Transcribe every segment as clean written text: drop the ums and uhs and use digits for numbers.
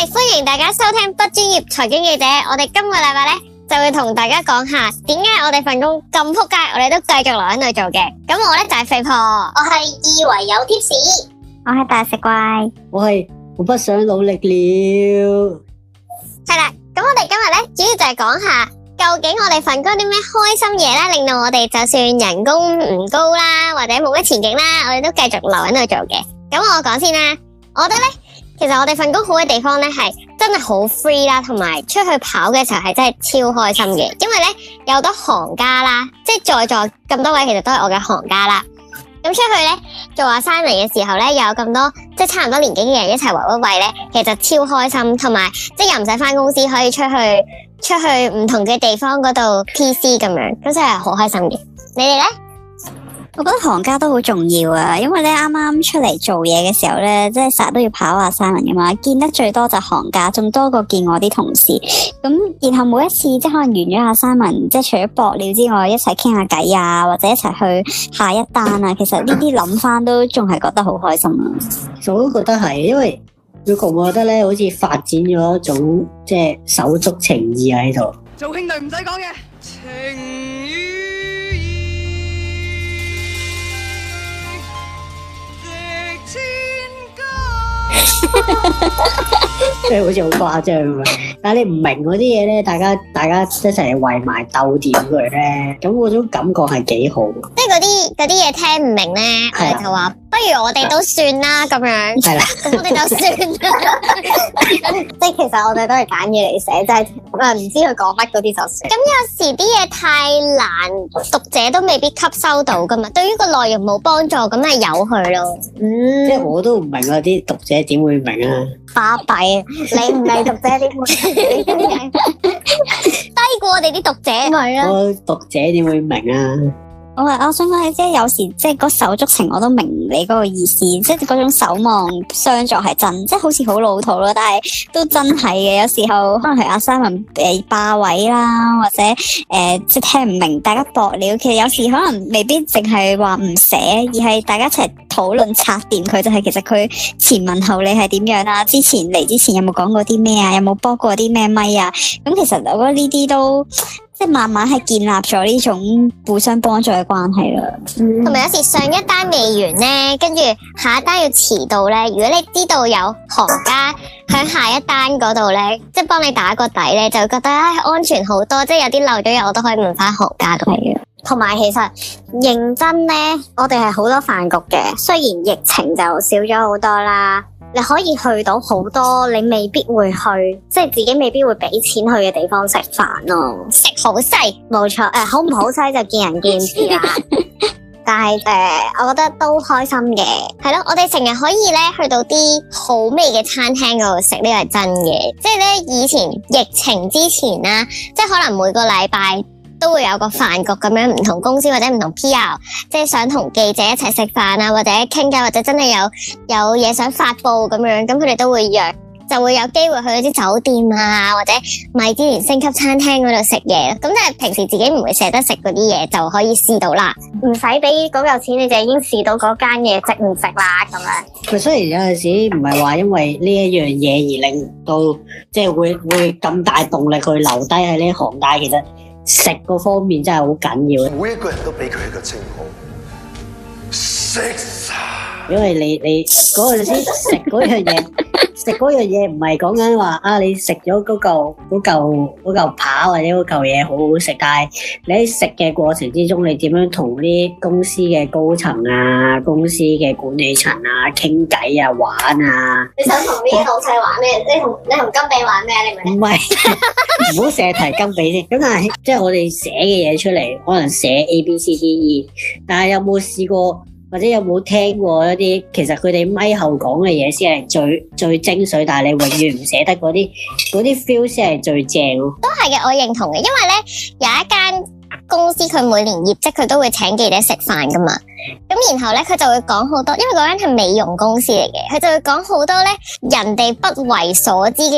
係歡迎大家收聽不專業財經記者，我哋今個禮拜咧就會同大家講下點解我哋份工咁撲街，我哋都繼續留喺度做嘅。咁我咧就係肥婆，我係以為有貼士， 我係大食怪， 我不想努力了。 係啦，咁我哋今日咧主要就係講下究竟我哋份工啲咩開心嘢啦，令到我哋就算人工唔高啦，或者冇乜前景啦，我哋都繼續留喺度做嘅。咁我講先啦，我覺得咧，其實我哋份工好嘅地方咧係真係好 free 啦，同埋出去跑嘅時候係真係超開心嘅，因為咧有好多行家啦，即係在座咁多位其實都係我嘅行家啦。咁出去咧做阿山嚟嘅時候咧，有咁多即係差唔多年紀嘅人一齊圍一圍咧，其實超開心，同埋即係又唔使返公司，可以出去唔同嘅地方嗰度 PC 咁樣，咁真係好開心嘅。你哋咧？ 我覺得行家都好重要啊，因為咧啱啱出嚟做嘢嘅時候咧，即係成日都要跑阿 Simon 噶嘛，見得最多就行家，仲多過見我啲同事。咁然後每一次即係可能完咗阿 Simon，即係除咗搏料之外，一齊傾下偈啊，或者一齊去下一單啊，其實呢啲諗翻都仲係覺得好開心啊。 其實我都覺得係，因為我覺得咧，好似發展咗一種即係手足情義喺度。 做兄弟唔使講嘅情義。 即係好似好誇張咁樣，但係你唔明嗰啲嘢咧，大家一齊圍埋鬥掂佢咧，咁嗰種感覺係幾好。 即係嗰啲嘢聽唔明咧，我哋就話不如我哋都算啦咁樣。係啦，咁我哋就算啦。即係其實我哋都係揀嘢嚟寫，就係唔知佢講乜嗰啲就算。咁有時啲嘢太難，讀者都未必吸收到噶嘛。對於個內容冇幫助，咁咪由佢咯。 即係我都唔明啊，啲讀者點會明啊？ 巴閉啊！你唔係讀者點會？低過我哋啲讀者咪啦。 我讀者點會明啊？ 我想講即係有時即係嗰手足情，我都明你嗰個意思，即係嗰種守望相助係真，即係好似好老土咯，但係都真係嘅。有時候可能係阿 Simon 霸位啦，或者即係聽唔明，大家搏料。其實有時可能未必淨係話唔寫，而係大家一齊討論拆掂佢，就係其實佢前文後理係點樣啊？之前嚟之前有冇講過啲咩啊？有冇播過啲咩咪啊？咁其實我覺得呢啲都即係慢慢係建立咗呢種互相幫助嘅關係啦。 同埋有時上一單未完咧，跟住下一單要遲到咧，如果你知道有行家喺下一單嗰度咧，即係幫你打個底咧，就覺得安全好多，即係有啲漏咗嘢我都可以問翻行家咁樣。同埋其實認真咧，我哋係好多飯局嘅，雖然疫情就少咗好多啦，你可以去到好多你未必會去，即係自己未必會俾錢去嘅地方食飯咯。食好西，冇錯，好唔好西就見仁見智啦。但係我覺得都開心嘅，係咯，我哋成日可以咧去到啲好味嘅餐廳嗰度食，呢個係真嘅。即係咧以前疫情之前啦，即係可能每個禮拜都會有個飯局咁樣，唔同公司或者唔同 PR， 即係想同記者一齊食飯啊，或者傾偈，或者真係有嘢想發佈咁樣，咁佢哋都會約，就會有機會去嗰啲酒店啊，或者米芝蓮星級餐廳嗰度食嘢。咁即係平時自己唔會捨得食嗰啲嘢，就可以試到啦，唔使俾嗰嚿錢，你就已經試到嗰間嘢值唔值啦咁樣。 佢雖然有陣時唔係話因為呢一樣嘢而令到即係會咁大動力去留低喺呢行，但係其實食嗰方面真係好緊要。 每一個人都俾佢一個稱號，食啊！ 因為你嗰陣時食嗰樣嘢，食嗰樣嘢唔係講緊話啊，你食咗嗰嚿扒或者嗰嚿嘢好好食，但係你喺食嘅過程之中，你點樣同啲公司嘅高層啊、公司嘅管理層啊傾偈啊、玩啊？ 你想同啲老細玩咩？你同金比玩咩？你咪唔係，唔好成日提金比先。咁但係即係我哋寫嘅嘢出嚟，可能寫 A B C D E， 但係有冇試過？或者有冇聽過一啲其實佢哋咪後講嘅嘢先係最精髓，但係你永遠唔捨得嗰啲 feel 先係最正咯。 都係嘅，我認同嘅，因為咧有一間公司佢每年業績佢都會請記者食飯噶嘛，咁然後咧佢就會講好多，因為嗰間係美容公司嚟嘅，佢就會講好多咧人哋不為所知嘅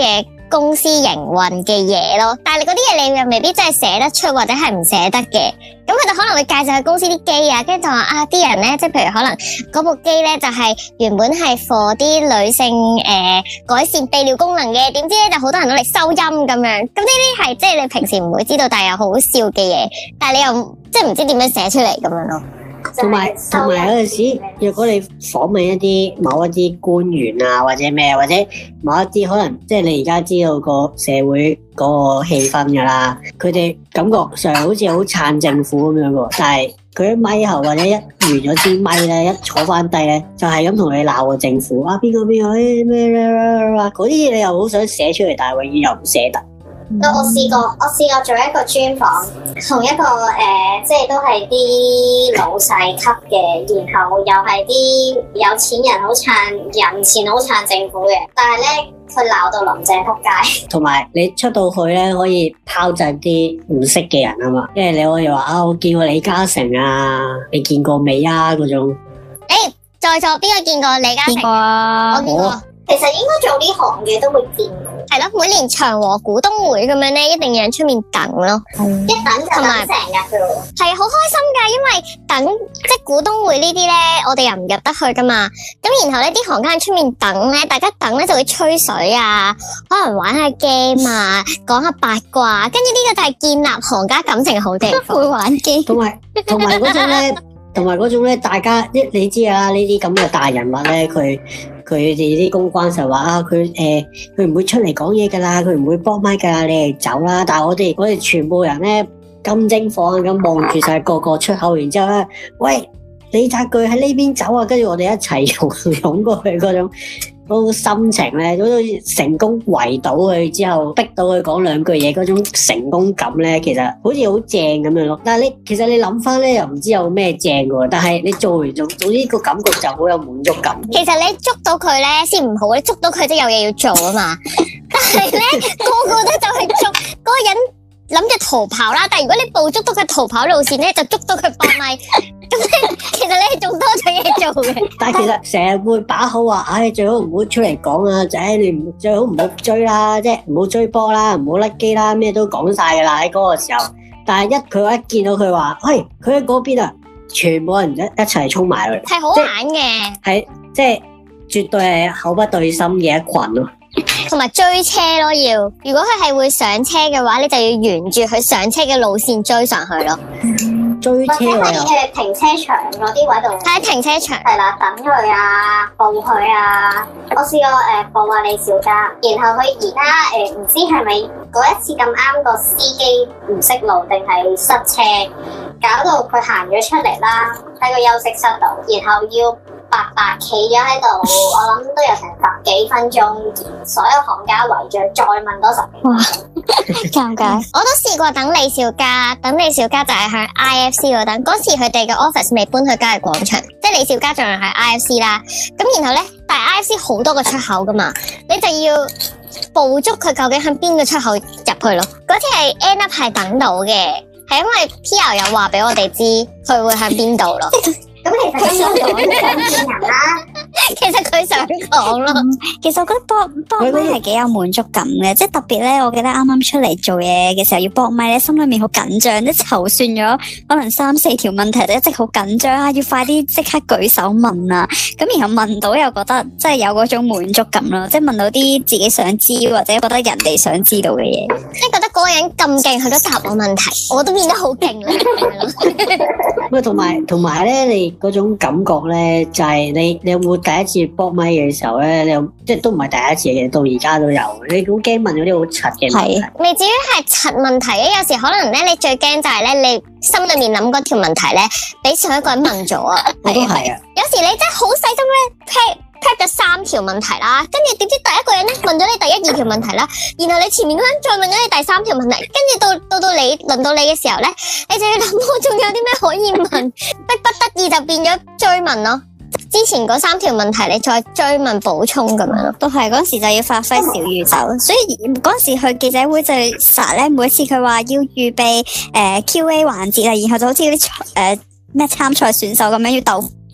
公司營運嘅嘢咯。但係你嗰啲嘢你又未必真係寫得出或者係唔寫得嘅。咁佢哋可能會介紹佢公司啲機啊，跟住就話啊啲人咧，即係譬如可能嗰部機咧就係原本係 for 啲女性改善泌尿功能嘅，點知咧就好多人攞嚟收音咁樣。咁呢啲係即係你平時唔會知道，但係又好笑嘅嘢，但係你又即係唔知點樣寫出嚟咁樣咯。 同埋有陣時，若果你訪問某一啲官員啊，或者咩，或者某一啲可能，即係你而家知道個社會嗰個氣氛噶啦，佢哋感覺上好似好撐政府咁樣喎，但係佢喺咪後或者一完咗支咪咧，一坐翻低咧，就係咁同你鬧個政府啊，邊個咩嗰啲嘢，你又好想寫出嚟，但係永遠又唔寫得。 我試過做一個專訪，同一個即係都係啲老細級嘅，然後又係啲有錢人好撐人錢好撐政府嘅，但係咧佢鬧到林鄭仆街。 同埋你出到去咧，可以拋擲啲唔識嘅人啊嘛，因為你可以話啊，我見過李嘉誠啊，你見過未啊嗰種。 在座邊個見過李嘉誠？ 見過啊， 我見過。 其實應該做呢行嘅都會見過。 係咯，每年長和股東會咁樣咧，一定有人出面等咯， 一等就等成日噶咯。 係好開心噶，因為等即係股東會呢啲咧，我哋又唔入得去噶嘛。咁然後咧，啲行家喺出面等咧，大家等咧就會吹水啊，可能玩下 game 啊，講下八卦，跟住呢個就係建立行家感情好地方。 會玩機， 同埋嗰種咧，大家你知啊，呢啲咁嘅大人物咧，佢哋啲公關就話啊，佢唔會出嚟講嘢噶啦，佢唔會幫麥噶啦，你哋走啦。但係我哋全部人咧金睛火眼咁望住晒個個出口，然之後咧，喂，李澤鉅喺呢邊走啊，跟住我哋一齊湧過去嗰種心情咧，好似成功圍到佢之後，逼到佢講兩句嘢嗰種成功感咧，其實好似好正咁樣咯。但係其實你諗翻咧，又唔知有咩正嘅，但係你做完總之個感覺就好有滿足感。 其實你捉到佢咧先唔好，你捉到佢即係有嘢要做啊嘛。但係咧個個都就去捉嗰個人。諗住逃跑啦，但係如果你捕捉到佢逃跑路線咧，就捉到佢搏咪，咁咧其實你係仲多咗嘢做嘅。 但係其實成日會把口話，唉，最好唔好出嚟講啊，仔，你最好唔好追啦，即係唔好追波啦，唔好甩機啦，咩都講晒噶啦喺嗰個時候。但係佢一見到佢話，喂，佢喺嗰邊啊，全部人一齊衝埋去， 係好玩嘅， 係即係絕對係口不對心嘅一群咯。 同埋追車咯，如果佢係會上車嘅話，你就要沿住佢上車嘅路線追上去咯。 追車我又停車場嗰啲位度， 喺停車場係啦，等佢啊，報佢啊。我試過報下李小加，然後佢而家唔知係咪嗰一次咁啱個司機唔識路定係塞車，搞到佢行咗出嚟啦，喺個休息室度，然後要白企咗喺度，我諗都有成10幾分鐘，所有行家圍住，再問多10幾分鐘。哇，尷尬！ 我都試過等李小加就係喺 IFC 嗰度等，嗰時佢哋嘅 office 未搬去嘉裕廣場，即係李小加仲係 IFC 啦。咁然後咧，但係 IFC 好多個出口噶嘛，你就要捕捉佢究竟喺邊個出口入去咯。嗰次係 end up 係等到嘅，係因為 PR 有話俾我哋知佢會喺邊度咯。 咁其實佢想講嘅人啦， 其實佢想講咯。 其實我覺得搏咪係幾有滿足感嘅，即係特別咧。我記得啱啱出嚟做嘢嘅時候要搏咪咧，心裏面好緊張，即係籌算咗可能3-4條問題，就一直好緊張啊，要快啲即刻舉手問啊。咁然後問到又覺得即係有嗰種滿足感咯，即係問到啲自己想知或者覺得人哋想知道嘅嘢， 即係覺得嗰個人咁勁，佢都答我問題，我都變得好勁啦。 喂，同埋咧，你嗰種感覺咧，就係你有冇第一次搏咪嘅時候咧？你有即係都唔係第一次嘅，到而家都有。你好驚問嗰啲好柒嘅問題， 未至於係柒問題嘅。有時可能咧，你最驚就係咧，你心裏面諗嗰條問題咧，俾上一個人問咗啊。 我都係啊。 有時你真係好細心咧 prep 咗3條問題啦，跟住點知第一個人咧問咗你第1、2條問題啦，然後你前面嗰人再問咗你第3條問題，跟住到你輪到你嘅時候咧，你就要諗我仲有啲咩可以問，逼不得已就變咗追問咯。之前嗰3條問題你再追問補充咁樣咯， 都係嗰時就要發揮小宇宙，所以嗰時去記者會就實咧，每次佢話要預備QA 環節啦，然後就好似啲咩參賽選手咁樣要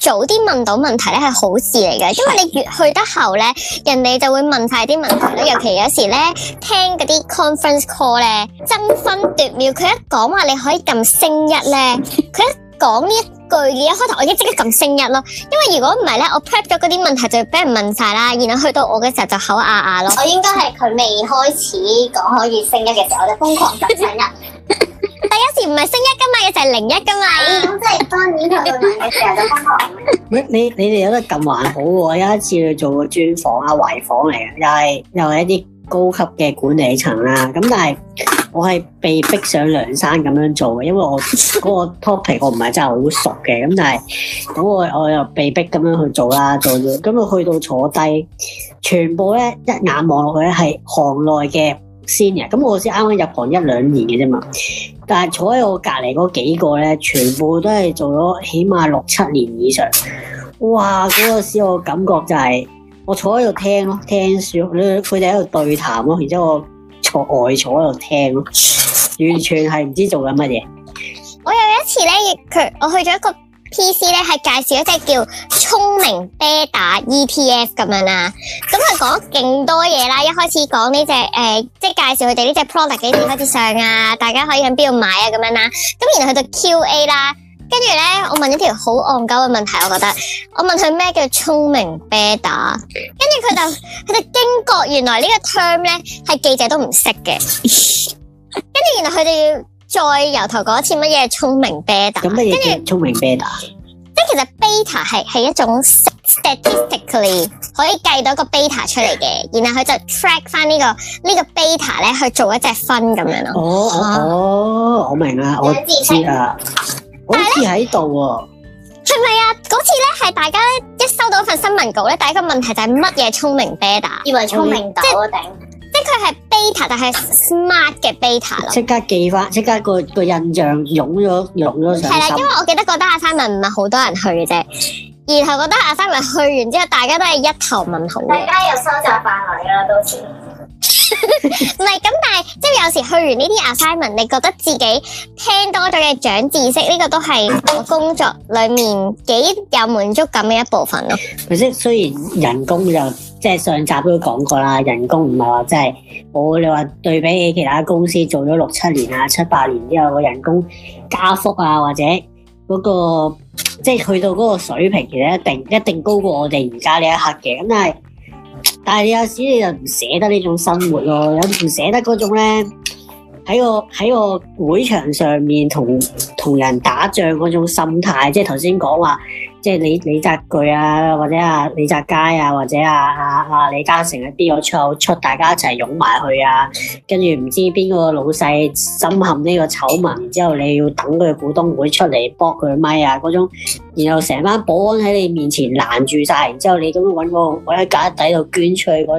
早啲問到問題咧係好事嚟嘅，因為你越去得後咧，人哋就會問晒啲問題咧。尤其有時咧聽嗰啲 conference call 咧，爭分奪秒，佢一講話你可以撳星一咧，佢一講呢一句，一開頭我已經即刻撳星一咯。因為如果唔係咧，我 prep 咗嗰啲問題就俾人問晒啦，然後去到我嘅時候就口啞啞咯。 我應該係佢未開始講可以升一嘅時候，我就瘋狂撳星一。 但有時唔係星一噶嘛，有時係零一噶嘛。 咁即係當然佢會問嘅時候就瘋狂。 你哋有得撳還好喎，有一次去做個專訪啊，圍訪嚟嘅，又係一啲高級嘅管理層啦。咁但係我係被逼上梁山咁樣做嘅，因為我嗰個 topic 我唔係真係好熟嘅。咁但係咁我又被逼咁樣去做啦，做咗咁啊去到坐低，全部咧一眼望落去咧係行內嘅 senior。咁我先啱啱入行1-2年嘅啫嘛。但係坐喺我隔離嗰幾個咧，全部都係做咗起碼6-7年以上。哇！嗰個時我感覺就係我坐喺度聽咯，聽書，佢哋喺度對談咯，然之後我坐喺度聽咯，完全係唔知做緊乜嘢。 我有一次咧，我去咗一個 PC 咧，係介紹一隻叫聰明啤打 ETF 咁樣啦。咁佢講勁多嘢啦，一開始講呢隻即係介紹佢哋呢隻 product 幾時開始上啊，大家可以喺邊度買啊咁樣啦。咁然後去到 QA 啦，跟住咧我問一條好戇鳩嘅問題，我覺得我問佢咩叫聰明啤打，跟住佢就驚覺原來呢個 term 咧係記者都唔識嘅，跟住然後佢哋要再由頭講一次乜嘢聰明啤打， 咁乜嘢叫聰明啤打？ 即係其實 beta 係一種 statistically 可以計到一個 beta 出嚟嘅，然後佢就 track 翻呢個 beta 咧去做一隻分咁樣咯。 哦，我明啦，我知啊，好似喺度喎。 係咪啊？嗰次咧係大家一收到份新聞稿咧，第一個問題就係乜嘢聰明 beta？ 以為聰明豆啊頂！ 即係佢係 beta，但係 smart 嘅 beta 咯。 即刻記翻，即刻個印象湧咗上心。 係啦，因為我記得嗰單 assignment 唔係好多人去嘅啫，然後嗰單 assignment 去完之後，大家都係一頭問號嘅。 大家有收集範圍啦，到時。 唔係咁，但係即係有時去完呢啲 assignment，你覺得自己聽多咗嘅長知識，呢個都係我工作裏面幾有滿足感嘅一部分咯。 即係雖然人工就即係上集都講過啦，人工唔係話即係你話對比起其他公司做咗6-7年啊、7-8年之後個人工加幅啊，或者嗰個即係去到嗰個水平，其實一定高過我哋而家呢一刻嘅。咁但係有時你就唔捨得呢種生活咯，有唔捨得嗰種咧喺個會場上面同人打仗嗰種心態，即係頭先講話，即係李澤鉅啊，或者李澤楷啊，或者李嘉誠一啲出口出，大家一齊擁埋去啊，跟住唔知邊個老細深陷呢個醜聞，然之後你要等佢股東會出嚟駁佢咪啊嗰種，然後成班保安喺你面前攔住晒，然之後你咁樣揾喺架底度捐出去嗰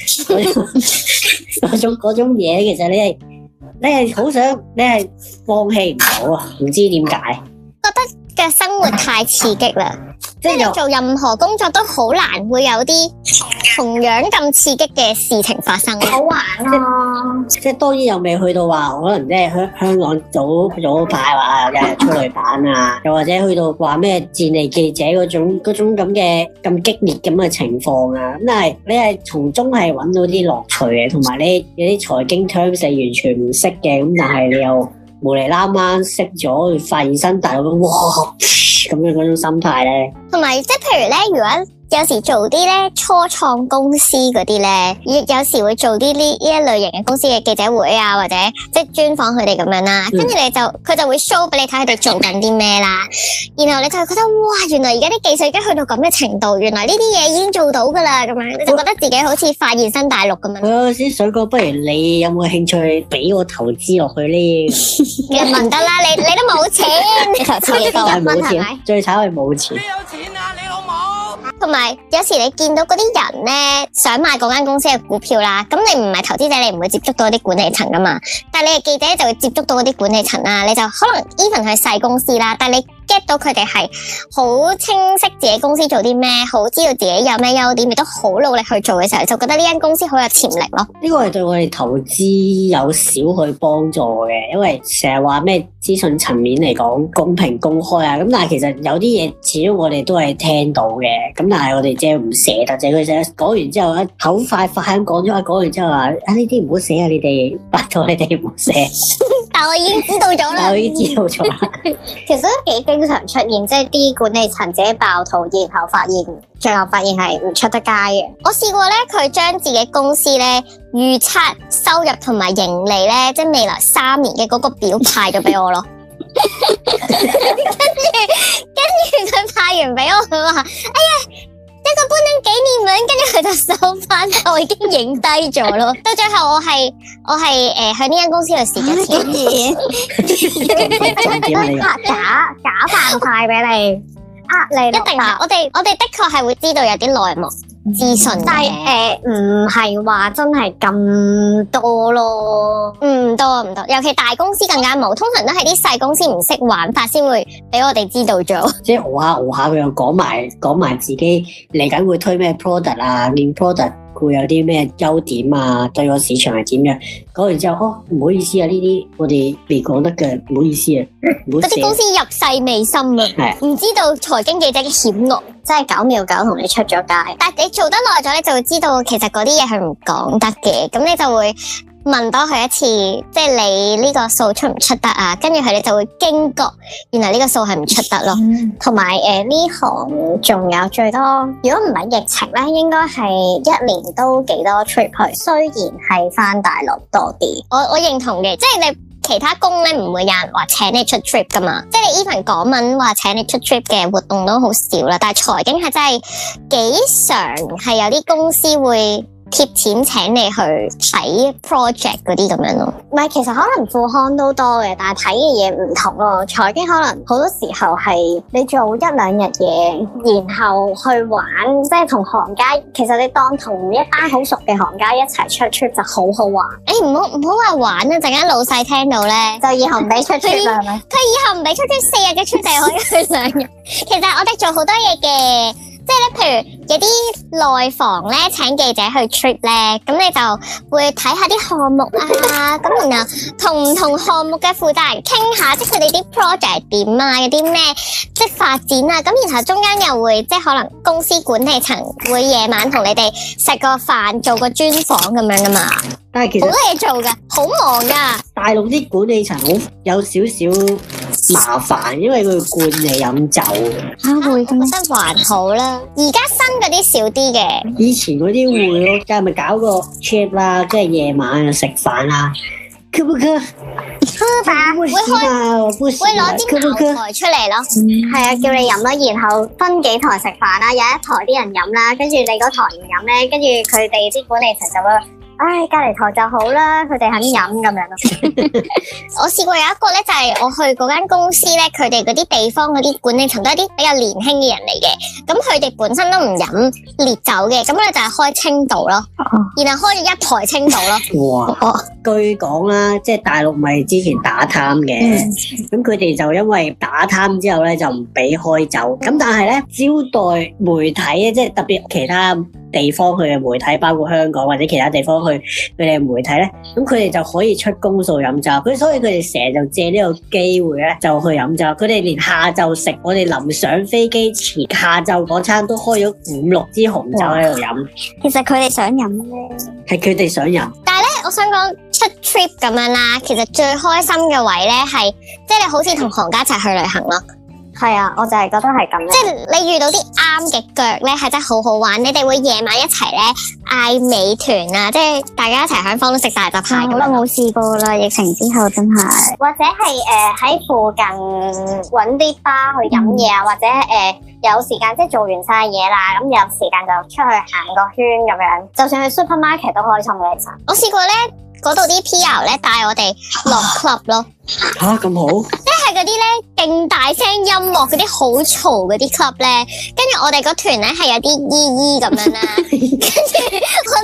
種嘢，其實你係好想，你係放棄唔到啊！唔知點解， 覺得嘅生活太刺激啦，即係你做任何工作都好難會有啲同樣咁刺激嘅事情發生。 好玩咯！ 即係當然又未去到話，可能即係香港早排話有人出嚟版啊，又或者去到話咩戰地記者嗰種咁嘅咁激烈咁嘅情況啊。咁但係你係從中係揾到啲樂趣嘅，同埋你有啲財經 terms 你完全唔識嘅，咁但係你又無厘啦啱識咗，發現新大陸哇咁樣嗰種心態咧， 同埋即係譬如咧，如果有時做啲咧初創公司嗰啲咧，有時會做啲呢一類型嘅公司嘅記者會啊，或者即係專訪佢哋咁樣啦。跟住佢就會 show 俾你睇佢哋做緊啲咩啦。然後你就會覺得哇，原來而家啲技術已經去到咁嘅程度，原來呢啲嘢已經做到噶啦，咁樣你就覺得自己好似發現新大陸咁樣。 我有時想講，不如你有冇興趣俾我投資落去呢？ 你問得啦，你都冇錢，你投資幾多係冇錢， 係咪？ 最慘係冇錢。 邊有錢啊，你老母？ 同埋有時你見到嗰啲人咧想買嗰間公司嘅股票啦，咁你唔係投資者，你唔會接觸到啲管理層噶嘛。但係你係記者就會接觸到嗰啲管理層啦，你就可能 even 係細公司啦，但係你 get 到佢哋係好清晰自己公司做啲咩，好知道自己有咩優點，亦都好努力去做嘅時候，就覺得呢間公司好有潛力咯。 呢個係對我哋投資有少許幫助嘅，因為成日話咩資訊層面嚟講公平公開啊，咁但係其實有啲嘢始終我哋都係聽到嘅，咁但係我哋即係唔捨得，就係佢成日講完之後咧口快咁講咗，講完之後話啊呢啲唔好寫啊，你哋拜託你哋唔好寫。 但我已經知道咗啦， 我已經知道咗啦。 其實都幾經常出現，即係啲管理層自己爆肚，然後最後發現係唔出得街嘅。 我試過咧，佢將自己公司咧預測收入同埋盈利咧，即係未來3年嘅嗰個表派咗俾我咯。跟住佢派完俾我，佢話：哎呀，一個搬緊紀念文，跟住佢就收翻，我已經影低咗咯。到最後我係喺呢間公司度蝕咗錢， 假扮派俾你，你一定係我哋的確係會知道有啲內幕資訊， 但係唔係話真係咁多咯， 唔多，尤其大公司更加冇，通常都係啲細公司唔識玩法先會俾我哋知道咗。 即係熬下佢又講埋自己嚟緊會推咩 product 啊，連 product 會有啲咩優點啊，對個市場係點樣？講完之後，唔好意思啊，呢啲我哋未講得嘅，唔好意思啊，唔好嗰啲公司入世未深啊，唔知道財經記者嘅險惡， 真係9秒9同你出咗街。 但係你做得耐咗，你就會知道其實嗰啲嘢係唔講得嘅，咁你就會問多佢一次，即係你呢個數出唔出得啊？跟住佢哋就會驚覺，原來呢個數係唔出得咯。 同埋呢行仲有最多，如果唔係疫情咧，應該係1年都幾多 trip 去。雖然係返大陸多啲， 我認同嘅，即係你其他工咧唔會有人話請你出 trip 噶嘛，即係你 even 港文話請你出 trip 嘅活動都好少啦，但係財經係真係幾常係有啲公司會貼錢請你去睇 project 嗰啲咁樣咯。 唔係，其實可能副刊都多嘅，但係睇嘅嘢唔同咯。財經可能好多時候係你做1-2日嘢，然後去玩，即係同行家，其實你當同一班好熟嘅行家一齊出 trip 就好好玩。 唔好話玩啊！陣間老細聽到咧， 就以後唔俾出 trip 啦，係咪？ 佢以後唔俾出 trip 4日嘅 trip 就可以去2日。其實我哋做好多嘢嘅。即係咧，譬如有啲內房咧請記者去 trip 咧，咁你就會睇下啲項目啊，咁然後同唔同項目嘅負責人傾下，即係佢哋啲 project 點啊，有啲咩即係發展啊，咁然後中間又會即係可能公司管理層會夜晚同你哋食個飯，做個專訪咁樣噶嘛。 但係其實好多嘢做㗎，好忙㗎。 大陸啲管理層好有少少麻煩，因為佢灌你飲酒。 會咁，我覺得還好啦。而家新嗰啲少啲嘅。 以前嗰啲會咯，就係咪搞個 trip 啦，即係夜晚食飯啦。可不可？ 會攞啲茅台出嚟咯。 係啊，叫你飲啦，然後分幾台食飯啦，有一台啲人飲啦，跟住你嗰台唔飲咧，跟住佢哋啲管理層就會。唉，隔離台就好啦，佢哋肯飲咁樣咯。 我試過有一個咧，就係我去嗰間公司咧，佢哋嗰啲地方嗰啲管理層都係啲比較年輕嘅人嚟嘅，咁佢哋本身都唔飲烈酒嘅，咁咧就係開青島咯，然後開咗1台青島咯。 哇！據講啦，即係大陸咪之前打貪嘅，咁佢哋就因為打貪之後咧就唔俾開酒，咁但係咧招待媒體咧，即係特別其他地方去嘅媒體，包括香港或者其他地方去佢哋嘅媒體咧，咁佢哋就可以出公數飲酒，所以佢哋成日就借呢個機會咧就去飲酒。佢哋連下晝食，我哋臨上飛機前下晝嗰餐都開咗5-6支紅酒喺度飲。 其實佢哋想飲咧， 係佢哋想飲。 但係咧，我想講出 trip 咁樣啦，其實最開心嘅位咧係，即係你好似同行家一齊去旅行咯。 係啊，我就係覺得係咁。 即係你遇到啲啱嘅腳咧，係真係好好玩。你哋會夜晚一齊咧嗌美團啊，即係大家一齊響房都食大閘蟹。 好耐冇試過啦，疫情之後真係。或者係喺附近揾啲吧去飲嘢啊，或者有時間即係做完晒嘢啦，咁有時間就出去行個圈咁樣。就算去 supermarket 都開心嘅其實。 我試過咧，嗰度啲 PR 咧帶我哋落 club 咯。 吓咁好？ 即係嗰啲咧勁大聲音樂嗰啲好嘈嗰啲 club 咧，跟住我哋個團咧係有啲姨姨咁樣啦，跟住我哋同啲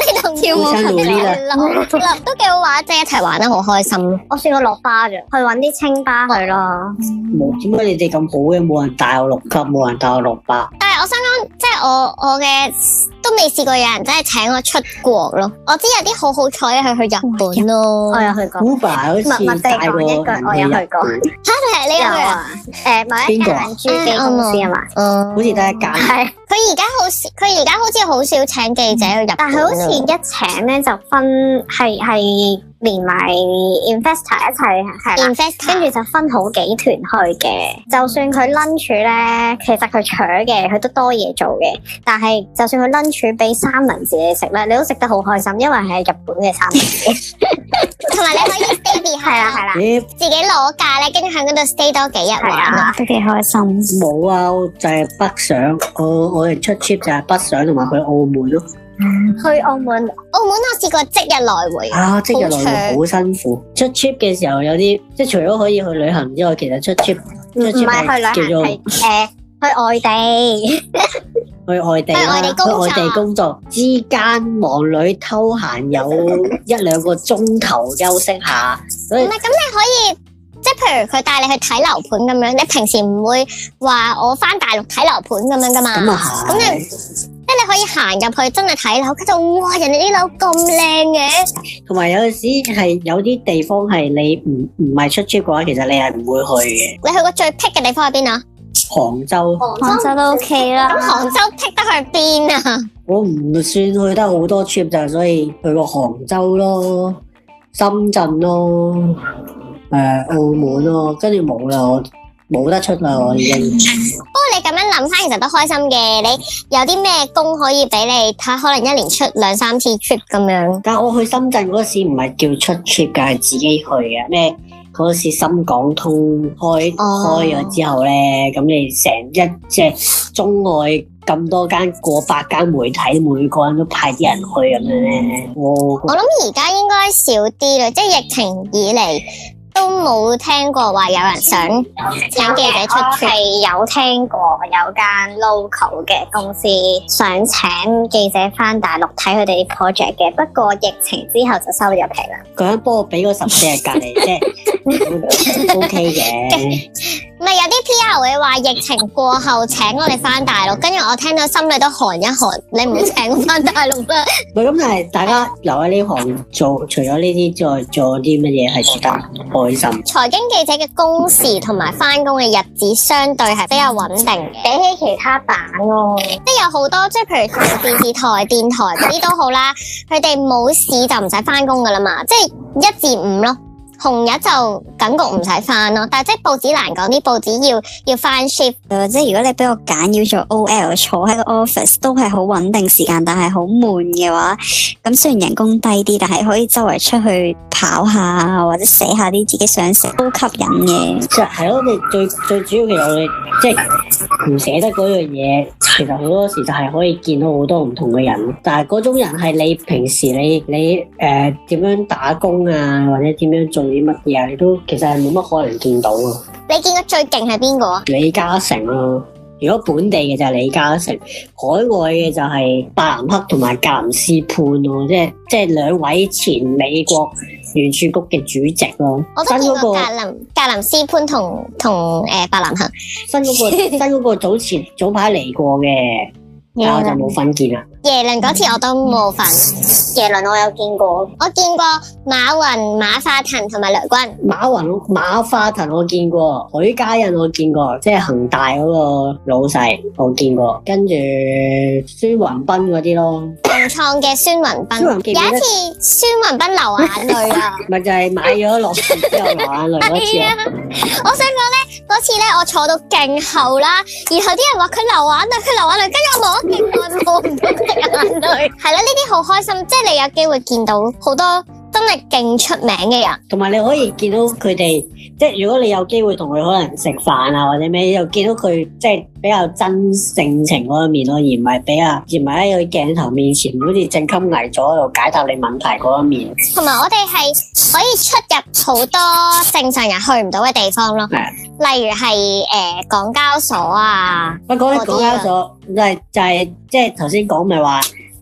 跳舞好想努力啦。 都幾好玩，即係一齊玩得好開心。 我試過落巴啫，去搵啲清吧去咯。 冇，點解你哋咁好嘅？冇人帶我落級，冇人帶我落巴。 但係我想講，即係我嘅都未試過有人真係請我出國咯。我知有啲好彩係去日本咯。 我有去過。 Uber 好似默默地帶過講一句，我有去過。 嚇你係呢個啊？ 某一間珠機公司啊嘛。 嗯， 好似得一間。 係。 佢而家好似好少請記者去日本， 但係好似一請咧就分係連埋 investor 一齊係啦， investor 跟住就分好幾團去嘅。就算佢 lunch 咧，其實佢搶嘅，佢都多嘢做嘅。但係就算佢 lunch 俾三文治你食咧，你都食得好開心，因為係日本嘅三文治。 同埋你可以 stay behind 係啦， 咦， 自己攞假咧，跟住喺嗰度 stay 多幾日係玩啊，都幾開心。 冇啊，就係北上。我哋出 trip 就係北上同埋去澳門咯。 去澳門， 澳門我試過即日來回， 啊，即日來好回好辛苦。出 trip 嘅時候有啲，即係除咗可以去旅行之外，其實出 trip 唔係去旅行， 叫做係去外地。 去外地去外地啦， 工作去外地工作之間忙裏偷閒有一兩個鐘頭休息下，所以唔係咁你可以。即係譬如佢帶你去睇樓盤咁樣，你平時唔會話我翻大陸睇樓盤咁樣噶嘛？ 咁啊咁係。 即係你可以行入去真係睇樓，跟住哇人哋啲樓咁靚嘅， 同埋有陣時係有啲地方係你唔係出 trip 嘅話，其實你係唔會去嘅。 你去過最僻嘅地方喺邊啊？ 杭州， 杭州都 OK 啦。 咁杭州僻得去邊啊？ 我唔算去得好多 trip 就所以去過杭州咯、深圳咯、澳門咯，跟住冇啦，我冇得出啦，我已經。 不過你咁樣諗翻，其實都開心嘅。你有啲咩工可以俾你睇？可能一年出2-3次 trip 咁樣。 但係我去深圳嗰時唔係叫出 trip 㗎，係自己去嘅。咩嗰時深港通開咗之後咧，咁你成一即係中外咁多間過百間媒體，每個人都派啲人去咁樣咧。 我諗而家應該少啲啦，即係疫情以嚟。都冇聽過話有人想請記者出 trip， 係有聽過有間 local 嘅公司想請記者翻大陸睇佢哋啲 project 嘅，不過疫情之後就收咗皮啦。 佢人幫我俾嗰14日隔離，即係 OK 嘅。 唔係有啲 PR 會話疫情過後請我哋翻大陸，跟住我聽到心裏都寒一寒。你唔好請我翻大陸啦。 唔係咁，但係大家留喺呢行做，除咗呢啲，再做啲乜嘢係值得開心？ 財經記者嘅工時同埋翻工嘅日子相對係比較穩定嘅， 比起其他版咯， 即係有好多即係譬如電視台、電台嗰啲都好啦，佢哋冇市就唔使翻工噶啦嘛，即係1至5咯。紅日就感覺唔使翻咯，但係即係報紙難講，啲報紙要翻 shift。 即係如果你俾我揀要做 OL 坐喺個 office 都係好穩定時間，但係好悶嘅話，咁雖然人工低啲，但係可以周圍出去跑下或者寫下啲自己想寫，都吸引嘅。 即係咯，你最主要其實我哋即係唔捨得嗰樣嘢，其實好多時就係可以見到好多唔同嘅人，但係嗰種人係你平時你點樣打工啊，或者點樣做啲乜嘢啊，你都其實係冇乜可能見到啊。 你見過最勁係邊個啊？ 李嘉誠咯，如果本地嘅就係李嘉誠，海外嘅就係伯南克同埋格林斯潘咯，即係兩位前美國聯儲局嘅主席咯。 我都見過格林斯潘同伯南克。 新嗰個早排嚟過嘅，但我就冇份見啦。 耶倫嗰次我都冇份， 耶倫我有見過， 我見過馬雲、馬化騰同埋雷軍。 馬化騰我見過，許家印我見過，即係恒大嗰個老細我見過，跟住孫雲斌嗰啲咯。 共創嘅孫雲斌，有一次孫雲斌流眼淚啊！ 咪就係買咗落船之後流眼淚嗰次啊！ 我想講咧，嗰次咧我坐到勁後啦，然後啲人話佢流眼淚，跟住我望咗勁耐望唔到佢眼淚。係啦，呢啲好開心，即係你有機會見到好多真係勁出名嘅人， 同埋你可以見到佢哋，即係如果你有機會同佢可能食飯啊或者咩，又見到佢即係比較真性情嗰一面咯，而唔係喺個鏡頭面前好似正襟危坐喺度解答你問題嗰一面。 同埋我哋係可以出入好多正常人去唔到嘅地方咯，例如係港交所啊。 不過講起港交所就係即係頭先講咪話。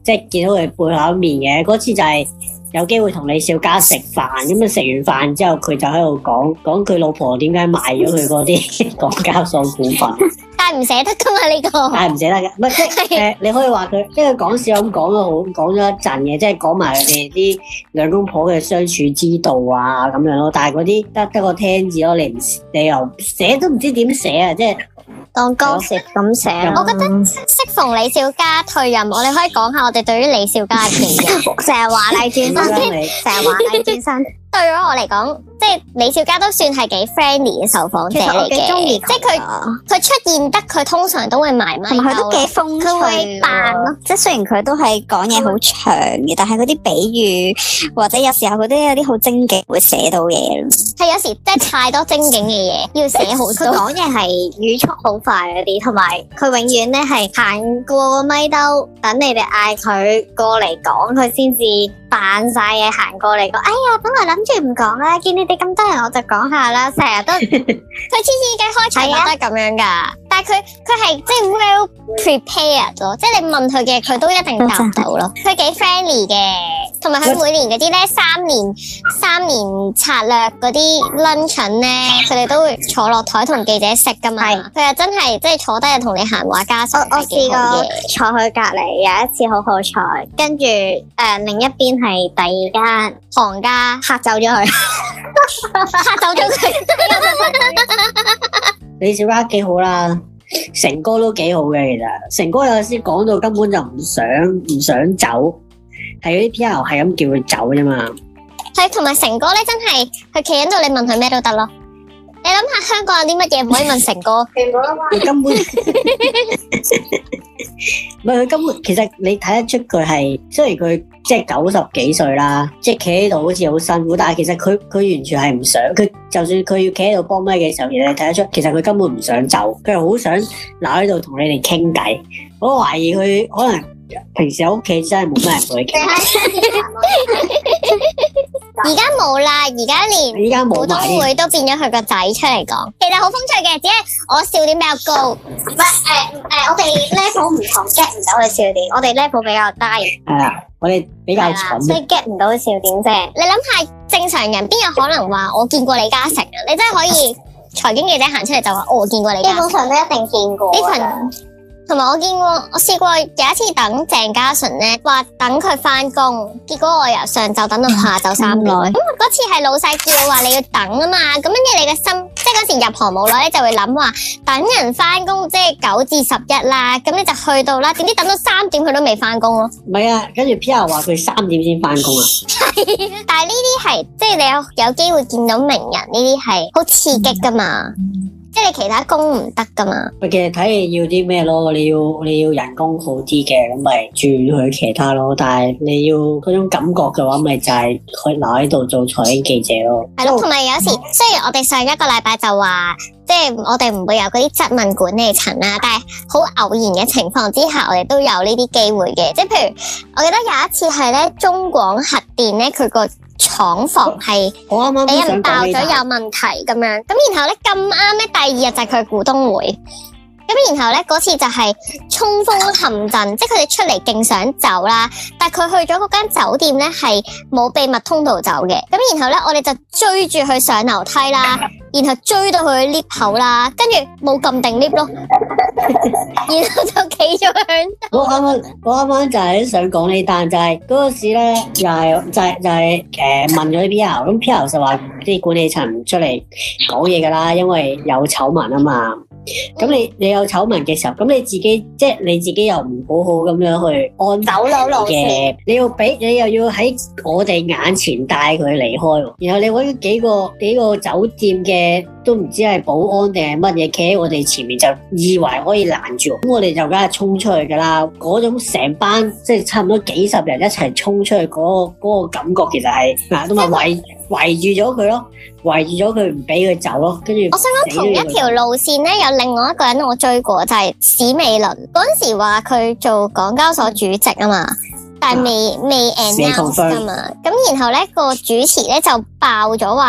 即係見到佢背後一面嘅。嗰次就係有機會同李小加食飯，咁啊食完飯之後，佢就喺度講佢老婆點解賣咗佢嗰啲港交所股份。 但係唔捨得噶嘛呢個， 係唔捨得嘅，唔係即係你可以話佢，即係講笑咁講咗一陣嘅，即係講埋佢哋啲兩公婆嘅相處之道啊咁樣咯。但係嗰啲得個聽字咯，你又寫都唔知點寫啊，即係當歌詞咁寫。 我覺得適逢李小加退任，我哋可以講下我哋對於李小加嘅期望。 成日華麗轉身，成日華麗轉身。 對咗我嚟講，即係李小加都算係幾 friendly 嘅受訪者嚟嘅， 幾中意， 即係佢出現得，佢通常都會埋咪， 同埋佢都幾風趣， 佢會扮咯。 即係雖然佢都係講嘢好長嘅，但係嗰啲比喻或者有時候佢都有啲好精警，會寫到嘢咯。 係有時即係太多精警嘅嘢，要寫好多。 佢講嘢係語速好快嗰啲，同埋佢永遠咧係行過個咪兜，等你哋嗌佢過嚟講，佢先至扮晒嘢行過嚟講。哎呀，本來諗住唔講啦，見你哋咁多人，我就講下啦。成日都佢次次嘅開場都係咁樣噶，但係佢係即係 well prepared 咯，即係你問佢嘅佢都一定答到咯。佢幾 friendly 嘅，同埋佢每年嗰啲咧三年策略嗰啲 luncheon 咧，佢哋都會坐落台同記者食噶嘛。佢又真係即係坐低就同你閒話家常。我試過坐佢隔離，有一次好好彩，跟住另一邊係第二間行家嚇走咗佢，嚇走咗佢。 李小加幾好啦，成哥都幾好嘅，其實成哥有時講到根本就唔想走，係嗰啲 PR 係咁叫佢走啫嘛。 係，同埋成哥咧真係佢企喺度，你問佢咩都得咯。你諗下香港有啲乜嘢唔可以問成哥？ 佢根本唔係，佢根本其實你睇得出佢係，雖然佢即係90幾歲啦，即係企喺度好似好辛苦，但係其實佢完全係唔想，佢就算佢要企喺度幫咪嘅時候，其實你睇得出，其實佢根本唔想走，佢係好想留喺度同你哋傾偈。我懷疑佢可能平時喺屋企真係冇乜人同佢傾。 而家冇啦，而家連股東會都變咗佢個仔出嚟講，其實好風趣嘅，只係我笑點比較高。唔係我哋 level 唔同 get 唔到佢笑點，我哋 level 比較低。 係啊，我哋比較蠢， 所以 get 唔到佢笑點啫。你諗下，正常人邊有可能話我見過李嘉誠啊？你真係可以財經記者行出嚟就話我見過李嘉誠，基本上都一定見過。呢群同埋我見過，我試過有一次等鄭嘉純咧，話等佢翻工，結果我由上晝等到下晝3點。咁嗰次係老細叫話你要等啊嘛，咁跟住你嘅心，即係嗰時入行冇耐咧，就會諗話等人翻工，即係9至11啦，咁你就去到啦，點知等到3點佢都未翻工咯。 唔係啊，跟住 PR 話佢3點先翻工啊。 但係呢啲係即係你有機會見到名人，呢啲係好刺激噶嘛。即係你其他工唔得噶嘛？ 其實睇你要啲咩咯，你要人工好啲嘅，咁咪轉去其他咯。但係你要嗰種感覺嘅話，咪就係可以留喺度做財經記者咯。 係咯，同埋有時雖然我哋上一個禮拜就話，即係我哋唔會有嗰啲質問管理層啦，但係好偶然嘅情況之下，我哋都有呢啲機會嘅。即係譬如，我記得有一次係咧，中廣核電咧，佢個廠房係俾人爆咗有問題咁樣，咁然後咧咁啱咧，第二日就係佢股東會，咁然後咧嗰次就係衝鋒陷陣，即係佢哋出嚟勁想走啦，但係佢去咗嗰間酒店咧係冇秘密通道走嘅，咁然後咧我哋就追住佢上樓梯啦，然後追到佢 lift 口啦，跟住冇撳定 lift 咯，然後就企咗喺度。 我啱啱就係想講呢單，就係嗰個時咧，又係問咗啲 PR，咁 PR 就話啲管理層出嚟講嘢噶啦，因為有醜聞啊嘛。咁你有醜聞嘅時候，咁你自己又唔好好咁樣去安走佬路嘅，你又要喺我哋眼前帶佢離開，然後你搵幾個酒店嘅都唔知係保安定係乜嘢，企喺我哋前面就以為可以攔住，咁我哋就梗係衝出去噶啦。嗰種成班即係差唔多幾十人一齊衝出去嗰個感覺，其實係嗱，都咪圍住咗佢咯，圍住咗佢唔俾佢走咯，跟住我想講同一條路線咧，有另外一個人我追過，就係史美倫。嗰陣時話佢做港交所主席啊嘛，但係未 announce 啊嘛。咁然後咧個主持咧就爆咗話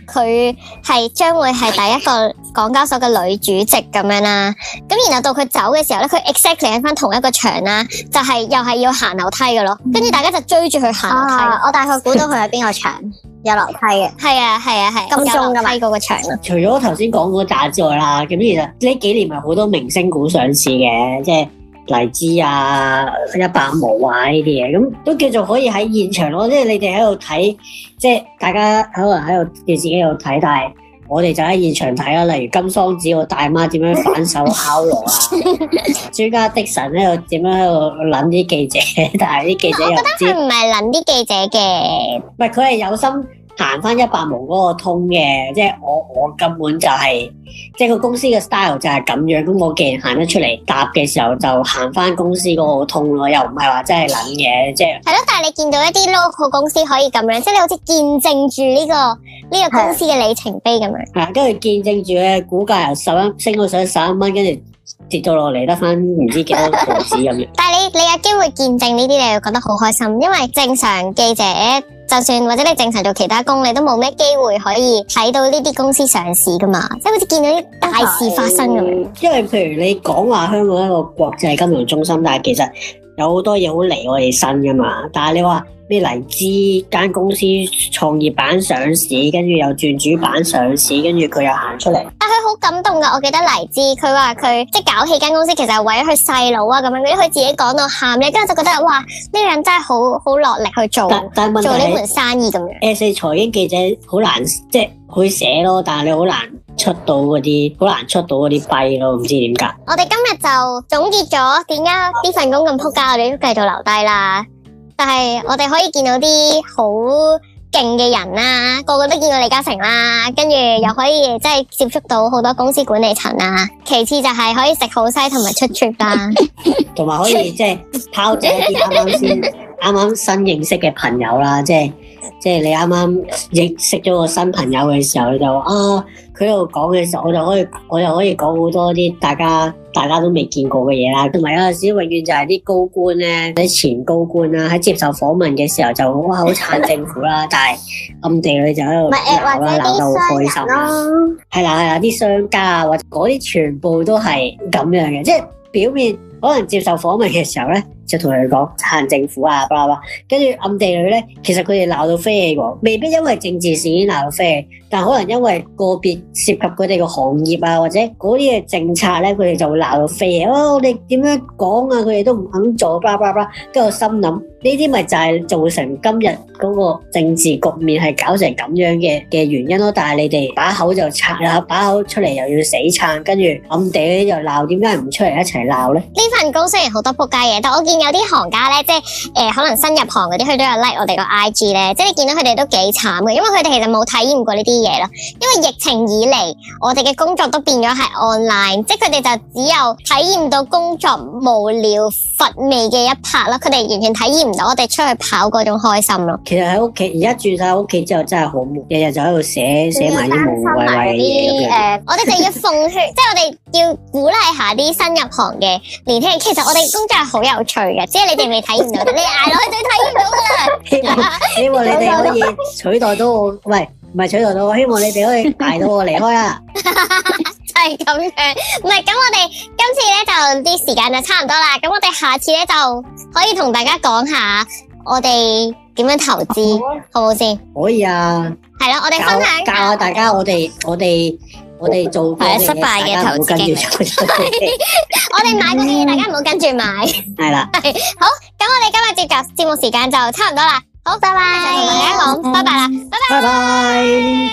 佢係將會係第一個港交所嘅女主席咁樣啦。咁然後到佢走嘅時候咧，佢 exactly 喺翻同一個場啦，就係又係要行樓梯嘅咯。跟住大家就追住佢行樓梯。 我大概估到佢喺邊個場有樓梯嘅。 係啊， 金鐘㗎嘛梯嗰個場咯。 除咗頭先講嗰扎之外啦，咁其實呢幾年咪好多明星股上市嘅，即係黎姿啊、100毛啊呢啲嘢，咁都叫做可以喺現場咯。即係你哋喺度睇，即係大家可能喺度電視機度睇，但係我哋就喺現場睇啦。例如金桑子個大媽點樣反手敲鑼啊，朱家的神喺度點樣喺度撚啲記者，但係啲記者又唔知。 佢唔係撚啲記者嘅， 唔係佢係有心行翻100毛嗰個通嘅，即係我根本就係、即係個公司嘅 style 就係咁樣。咁我既然行得出嚟答嘅時候，就行翻公司嗰個通咯，又唔係話真係撚嘅，即係。 係咯，但係你見到一啲 local 公司可以咁樣，即係你好似見證住呢個公司嘅里程碑咁樣。 係啊，跟住見證住咧，股價由11升到上11蚊，跟住跌到落嚟得翻唔知幾多毫子咁樣。 但係你有機會見證呢啲，你會覺得好開心，因為正常記者就算或者你正常做其他工，你都冇咩機會可以睇到呢啲公司上市噶嘛，即係好似見到啲大事發生咁樣。 因為譬如你講話香港一個國際金融中心，但係其實有好多嘢好離我哋身噶嘛。但係你話咩黎姿間公司創業板上市，跟住又轉主板上市，跟住佢又行出嚟。 但佢好感動噶，我記得黎姿佢話佢即係搞起間公司，其實係為咗佢細佬啊咁樣，佢自己講到喊咧，跟住就覺得哇，呢個人真係好落力去做但問題做呢門生意咁樣。 A4 財經記者好難，即係會寫咯，但係你好難出到嗰啲弊咯，唔知點解。 我哋今日就總結咗點解呢份工咁撲街，我哋都繼續留低啦。但係我哋可以見到啲好勁嘅人啦，個個都見過李嘉誠啦，跟住又可以即係接觸到好多公司管理層啦。其次就係可以食好西同埋出 trip 啦， 同埋可以即係拋走一啲啱啱新認識嘅朋友啦，即係你啱啱認識咗個新朋友嘅時候，你就佢喺度講嘅時候，我就可以講好多啲大家都未見過嘅嘢啦。同埋有陣時永遠就係啲高官咧，啲前高官啦，喺接受訪問嘅時候就哇好撐政府啦，但係暗地裏就喺度鬧啦，鬧得好開心啦。係啦，啲商家啊，或者嗰啲全部都係咁樣嘅，即係表面可能接受訪問嘅時候咧，就同佢講撐政府啊，巴拉巴，跟住暗地裏咧，其實佢哋鬧到飛起喎，未必因為政治事件鬧到飛起，但可能因為個別涉及佢哋個行業啊，或者嗰啲嘅政策咧，佢哋就會鬧到飛起。我哋點樣講啊？佢哋都唔肯做，巴拉巴拉，跟住我心諗呢啲咪就係造成今日嗰個政治局面係搞成咁樣嘅原因咯。但係你哋把口就撐啦，把口出嚟又要死撐，跟住暗地裏又鬧，點解唔出嚟一齊鬧咧？ 呢份工雖然好多仆街嘢，但我見有啲行家咧，即係可能新入行嗰啲，佢都有 like 我哋個 IG 咧，即係你見到佢哋都幾慘嘅，因為佢哋其實冇體驗過呢啲嘢咯。因為疫情以嚟，我哋嘅工作都變咗係 online， 即係佢哋就只有體驗到工作無聊乏味嘅一 part 咯，佢哋完全體驗唔到我哋出去跑嗰種開心咯。 其實喺屋企，而家住晒屋企之後真係好悶，日日就喺度寫埋啲無謂謂嘅嘢。 我哋就要奉勸，即係我哋要鼓勵下啲新入行嘅年輕人。其實我哋工作係好有趣嘅，只係你哋未體驗到，你捱落去就體驗到噶啦。 希望你哋可以取代到我，喂，唔係取代到我，希望你哋可以捱到我離開啊！ 就係咁樣，唔係咁我哋今次咧就啲時間就差唔多啦，咁我哋下次咧就可以同大家講下我哋點樣投資，好唔好先？ 可以啊， 係咯，我哋分享教下大家，我哋做過嘅嘢， 失敗嘅投資經歷。 我哋買嗰啲嘢，大家唔好跟住買。 係啦， 好，咁我哋今日節目時間就差唔多啦，好，拜拜，同大家講，拜拜啦，拜拜。 拜拜。